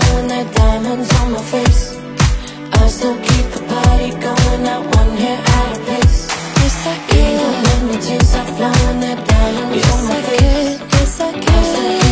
blowing their diamonds on my face. I still keep the party going, not one hair out of place. Yes, I can. Even when the tears are flowing, their diamonds on my face. Yes, I can.